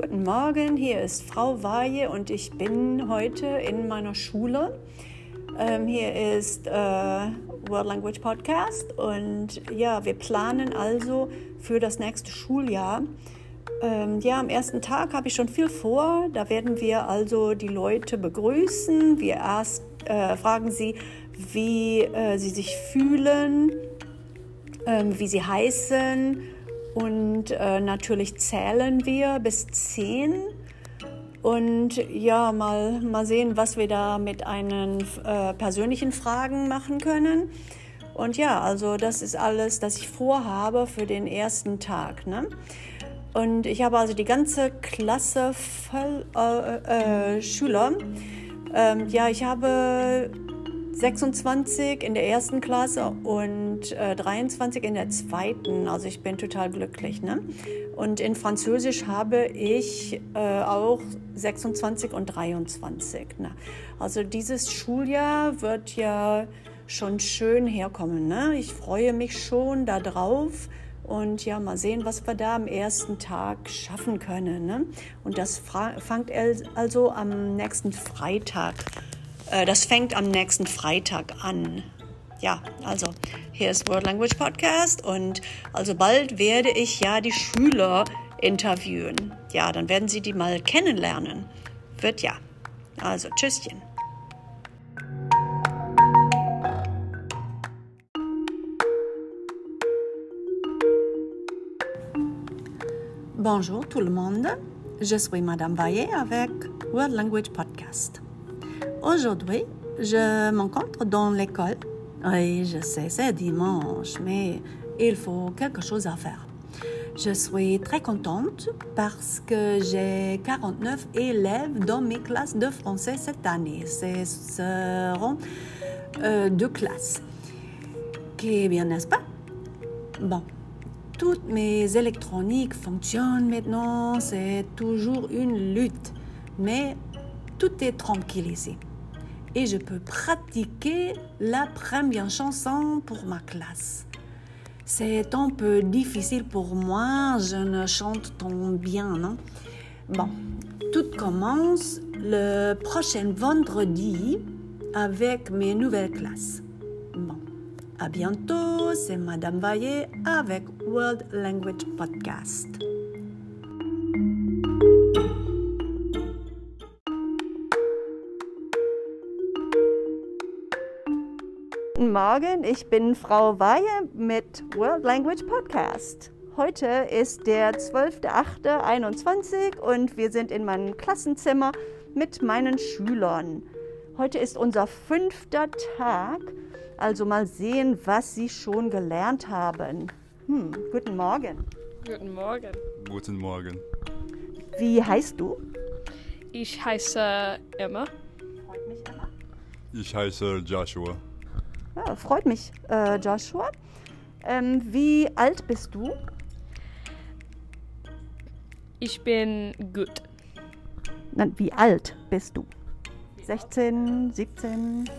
Guten Morgen, hier ist Frau Weihe und ich bin heute in meiner Schule. Hier ist World Language Podcast und ja, wir planen also für das nächste Schuljahr. Am ersten Tag habe ich schon viel vor. Da werden wir also die Leute begrüßen. Wir erst fragen sie, wie sie sich fühlen, wie sie heißen. Und natürlich zählen wir bis 10 und ja, mal sehen, was wir da mit einen persönlichen Fragen machen können. Und ja, also das ist alles, das ich vorhabe für den ersten Tag, ne? Und ich habe also die ganze Klasse voll Schüler. Ich habe 26 in der ersten Klasse und 23 in der zweiten. Also ich bin total glücklich, ne? Und in Französisch habe ich auch 26 und 23. Ne? Also dieses Schuljahr wird ja schon schön herkommen, ne? Ich freue mich schon darauf. Und ja, mal sehen, was wir da am ersten Tag schaffen können, ne? Und das fängt also am nächsten Freitag. Das fängt am nächsten Freitag an. Ja, also hier ist World Language Podcast und also bald werde ich ja die Schüler interviewen. Ja, dann werden Sie die mal kennenlernen. Wird ja. Also tschüsschen. Bonjour tout le monde. Je suis Madame Vaillet avec World Language Podcast. Aujourd'hui, je m'encontre dans l'école. Oui, je sais, c'est dimanche, mais il faut quelque chose à faire. Je suis très contente parce que j'ai 49 élèves dans mes classes de français cette année. Ce seront 2 classes. Qui bien, n'est-ce pas? Bon, toutes mes électroniques fonctionnent maintenant. C'est toujours une lutte, mais tout est tranquille ici. Et je peux pratiquer la première chanson pour ma classe. C'est un peu difficile pour moi, je ne chante tant bien, non? Bon, tout commence le prochain vendredi avec mes nouvelles classes. Bon, à bientôt, c'est Madame Vaillet avec World Language Podcast. Guten Morgen, ich bin Frau Weihe mit World Language Podcast. Heute ist der 12.08.21 und wir sind in meinem Klassenzimmer mit meinen Schülern. Heute ist unser 5. Tag, also mal sehen, was sie schon gelernt haben. Guten Morgen. Guten Morgen. Guten Morgen. Wie heißt du? Ich heiße Emma. Freut mich, Emma. Ich heiße Joshua. Ja, freut mich, Joshua. Wie alt bist du? Ich bin gut. Nein, wie alt bist du? 16, 17?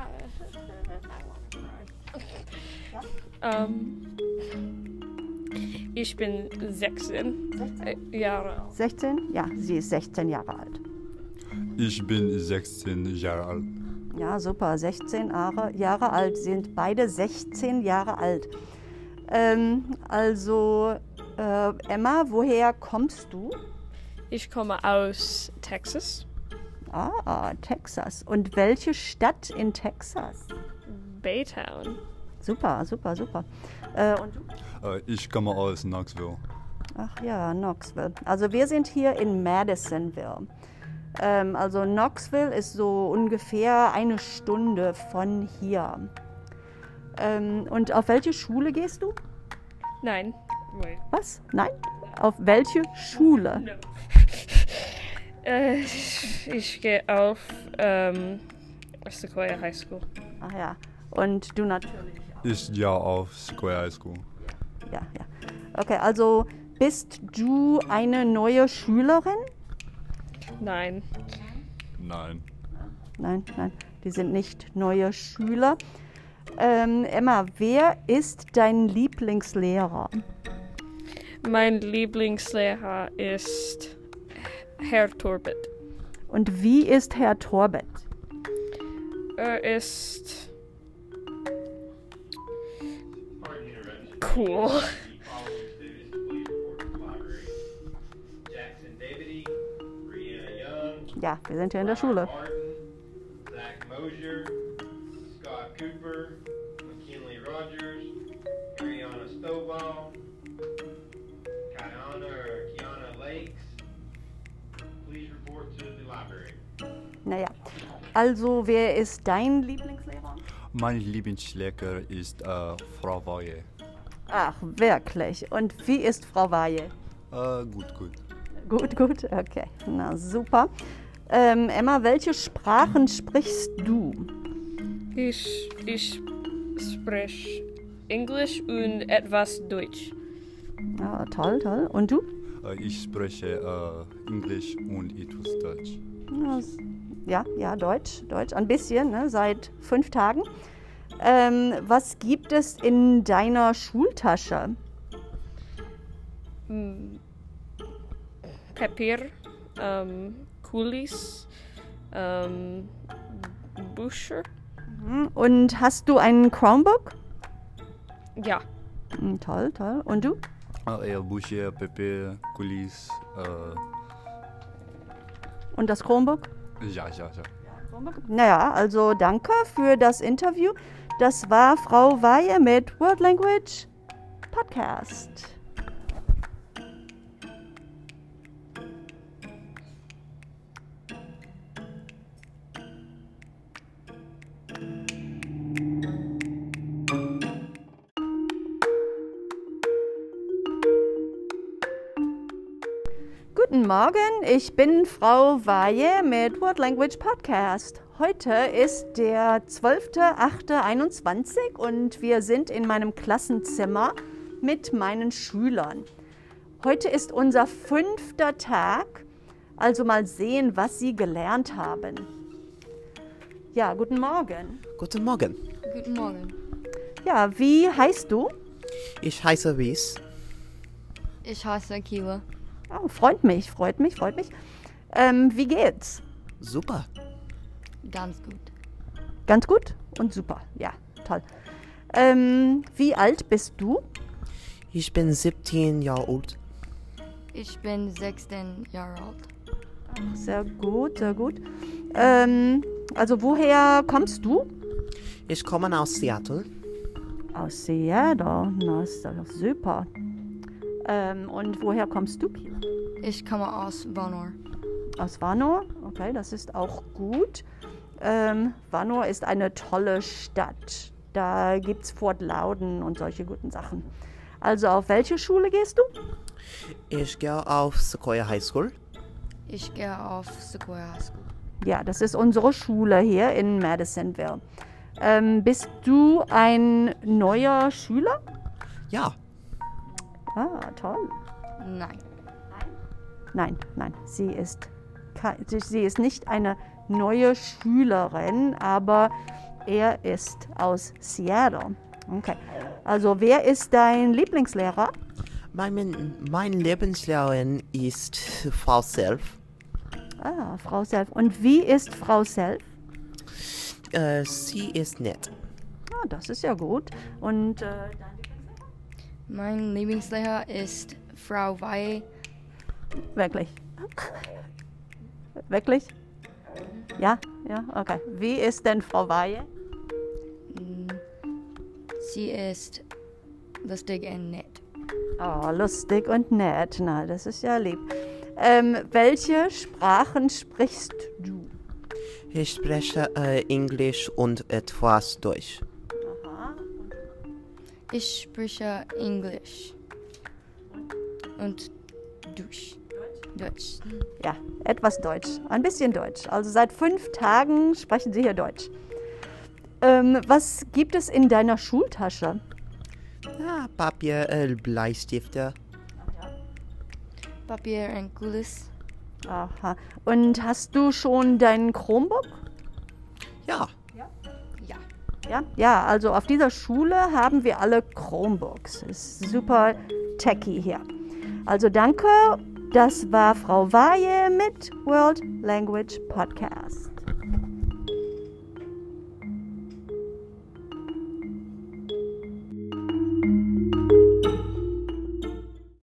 Ich bin 16 Jahre alt. 16? Ja, sie ist 16 Jahre alt. Ich bin 16 Jahre alt. Ja, super. 16 Jahre alt, sind beide 16 Jahre alt. Emma, woher kommst du? Ich komme aus Texas. Ah, Texas. Und welche Stadt in Texas? Baytown. Super. Und du? Ich komme aus Knoxville. Ach ja, Knoxville. Also wir sind hier in Madisonville. Also Knoxville ist so ungefähr 1 Stunde von hier. Und auf welche Schule gehst du? Nein. Wait. Was? Nein? Auf welche Schule? No. Ich gehe auf Sequoia High School. Ach ja. Und du natürlich auch. Ich gehe auf Sequoia High School. Ja. Okay, also bist du eine neue Schülerin? Nein. Nein. Nein, die sind nicht neue Schüler. Emma, wer ist dein Lieblingslehrer? Mein Lieblingslehrer ist Herr Torbet. Und wie ist Herr Torbet? Er ist cool. Jackson Davidy, Brianna Young, Ja, wir sind hier in der Schule. Martin, Zach Mosier, Scott Cooper, McKinley Rogers, Ariana Stovall, Kiana Lakes. Please report to the library. Naja, also wer ist dein Lieblingslehrer? Mein Lieblingslehrer ist Frau Weihe. Ach, wirklich. Und wie ist Frau Weihe? Gut. Gut, gut, okay. Na super. Emma, welche Sprachen sprichst du? Ich spreche Englisch und etwas Deutsch. Ja, toll, toll. Und du? Ich spreche Englisch und etwas Deutsch. Ja, Deutsch. Ein bisschen, ne? Seit 5 Tagen. Was gibt es in deiner Schultasche? Papier, Kulis, Bücher. Und hast du ein Chromebook? Ja, Toll, toll. Und du? Bücher, Papier, Kulis. Und das Chromebook? Ja. Naja, also danke für das Interview. Das war Frau Weihe mit World Language Podcast. Guten Morgen, ich bin Frau Weihe mit World Language Podcast. Heute ist der 12.08.21 und wir sind in meinem Klassenzimmer mit meinen Schülern. Heute ist unser 5. Tag, also mal sehen, was sie gelernt haben. Ja, guten Morgen. Guten Morgen. Guten Morgen. Ja, wie heißt du? Ich heiße Wies. Ich heiße Kila. Oh, freut mich. Wie geht's? Super. Ganz gut. Ganz gut und super. Ja, toll. Wie alt bist du? Ich bin 17 Jahre alt. Ich bin 16 Jahre alt. Sehr gut, sehr gut. Also woher kommst du? Ich komme aus Seattle. Aus Seattle. Na, ist doch super. Und woher kommst du, Kila? Ich komme aus Vanor. Aus Vanor? Okay, das ist auch gut. Vanor ist eine tolle Stadt. Da gibt's Fort Loudon und solche guten Sachen. Also auf welche Schule gehst du? Ich gehe auf Sequoia High School. Ich gehe auf Sequoia High School. Ja, das ist unsere Schule hier in Madisonville. Bist du ein neuer Schüler? Ja, Ah, toll. Nein. Nein, sie ist nicht eine neue Schülerin, aber er ist aus Seattle. Okay. Also wer ist dein Lieblingslehrer? mein Lieblingslehrerin ist Frau Self. Ah, Frau Self. Und wie ist Frau Self? Sie ist nett. Ah, das ist ja gut. Und Mein Lieblingslehrer ist Frau Weihe. wirklich? Wirklich? Ja, okay. Wie ist denn Frau Weihe? Sie ist lustig und nett. Oh, lustig und nett. Na, das ist ja lieb. Welche Sprachen sprichst du? Ich spreche Englisch und etwas Deutsch. Aha. Ich spreche Englisch. Und Deutsch. Ja, etwas Deutsch. Ein bisschen Deutsch. Also seit 5 Tagen sprechen Sie hier Deutsch. Was gibt es in deiner Schultasche? Ja, Papier, Bleistifte. Papier und Kulis. Aha. Und hast du schon dein Chromebook? Ja, Ja. Ja, also auf dieser Schule haben wir alle Chromebooks. Ist super techy hier. Also danke Das war Frau Weihe mit World Language Podcast.